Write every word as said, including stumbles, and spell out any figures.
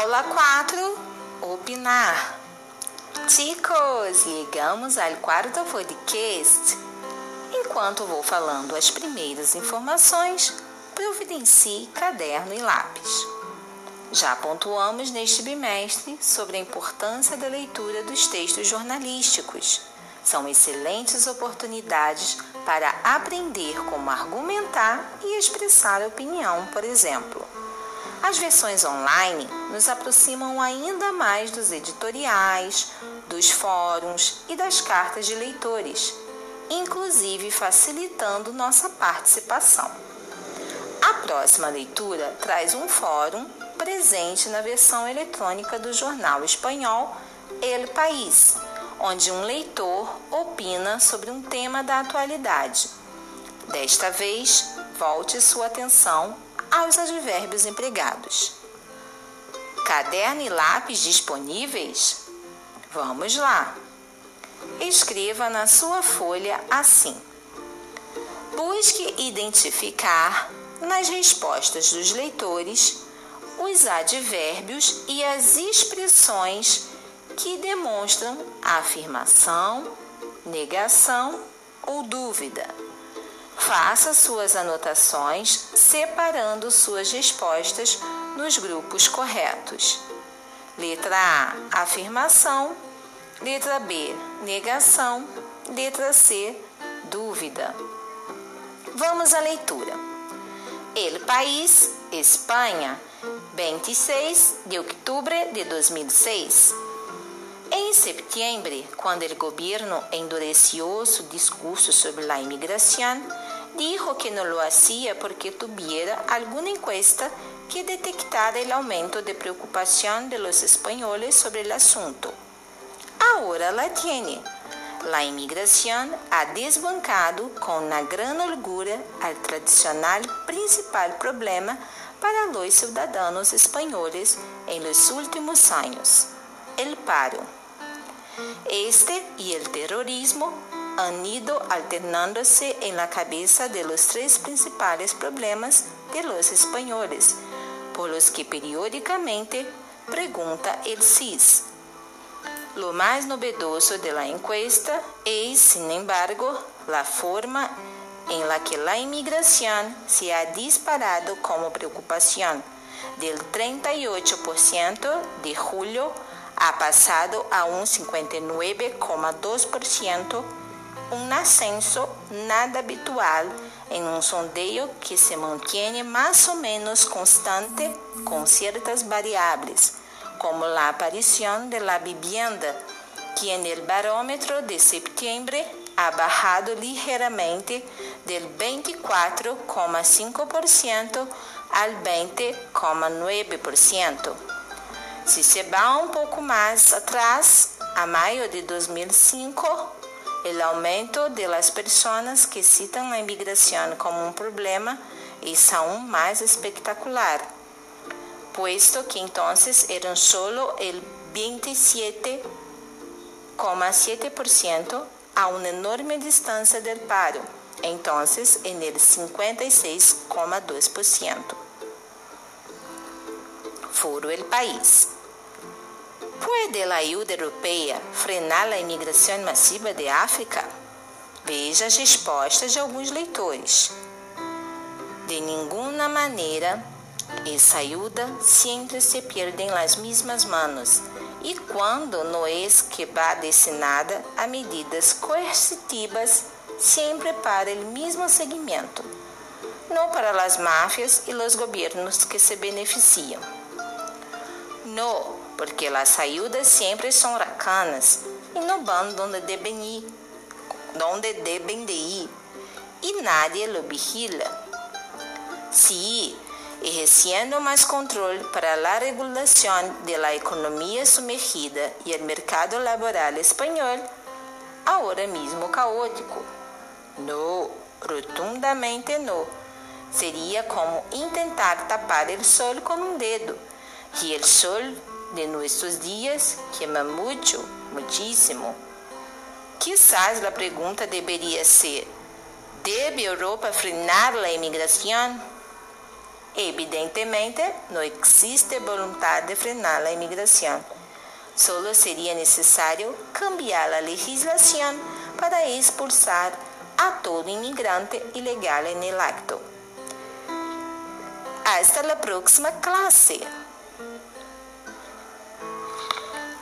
Aula quatro. Opinar. Chicos, ligamos ao quarto podcast. Enquanto vou falando as primeiras informações, providencie caderno e lápis. Já pontuamos neste bimestre sobre a importância da leitura dos textos jornalísticos. São excelentes oportunidades para aprender como argumentar e expressar opinião, por exemplo. As versões online nos aproximam ainda mais dos editoriais, dos fóruns e das cartas de leitores, inclusive facilitando nossa participação. A próxima leitura traz um fórum presente na versão eletrônica do jornal espanhol El País, onde um leitor opina sobre um tema da atualidade. Desta vez, volte sua atenção aos advérbios empregados. Caderno e lápis disponíveis? Vamos lá! Escreva na sua folha assim: busque identificar nas respostas dos leitores os advérbios e as expressões que demonstram afirmação, negação ou dúvida. Faça suas anotações separando suas respostas nos grupos corretos. Letra A, afirmação. Letra B, negação. Letra C, dúvida. Vamos à leitura. El País, Espanha, vinte e seis de outubro de dois mil e seis. Em setembro, quando o governo endureció su discurso sobre la imigración, dijo que no lo hacía porque tuviera alguna encuesta que detectara el aumento de preocupación de los españoles sobre el asunto. Ahora la tiene. La inmigración ha desbancado con una gran holgura al tradicional principal problema para los ciudadanos españoles en los últimos años, el paro. Este y el terrorismo han ido alternándose en la cabeza de los tres principales problemas de los españoles, por los que periódicamente pregunta el C I S. Lo más novedoso de la encuesta es, sin embargo, la forma en la que la inmigración se ha disparado como preocupación. Del treinta y ocho por ciento de julio ha pasado a un cincuenta y nueve coma dos por ciento, un ascenso nada habitual en un sondeo que se mantiene más o menos constante con ciertas variables, como la aparición de la vivienda, que en el barómetro de septiembre ha bajado ligeramente del veinticuatro coma cinco por ciento al veinte coma nueve por ciento. Si se va un poco más atrás, a mayo de dos mil cinco, el aumento de las personas que citan la inmigración como un problema es aún más espectacular, puesto que entonces eran solo el veintisiete coma siete por ciento a una enorme distancia del paro, entonces en el cincuenta y seis coma dos por ciento. Foro El País. ¿Puede la ayuda europea frenar la inmigración masiva de África? Veja as respostas de alguns leitores. De ninguna manera, esa ayuda siempre se pierde en las mismas manos y cuando no es que va destinada a medidas coercitivas siempre para el mismo seguimiento, no para las mafias y los gobiernos que se benefician. No, porque las ayudas siempre son racanas y no van donde deben ir, donde deben de ir y nadie lo vigila. Sí, ejerciendo más control para la regulación de la economía sumergida y el mercado laboral español, ahora mismo caótico. No, rotundamente no. Sería como intentar tapar el sol con un dedo, y el sol de nuestros días quema mucho, muchísimo. Quizás la pregunta debería ser: ¿debe Europa frenar la inmigración? Evidentemente, no existe voluntad de frenar la inmigración. Solo sería necesario cambiar la legislación para expulsar a todo inmigrante ilegal en el acto. Hasta la próxima clase.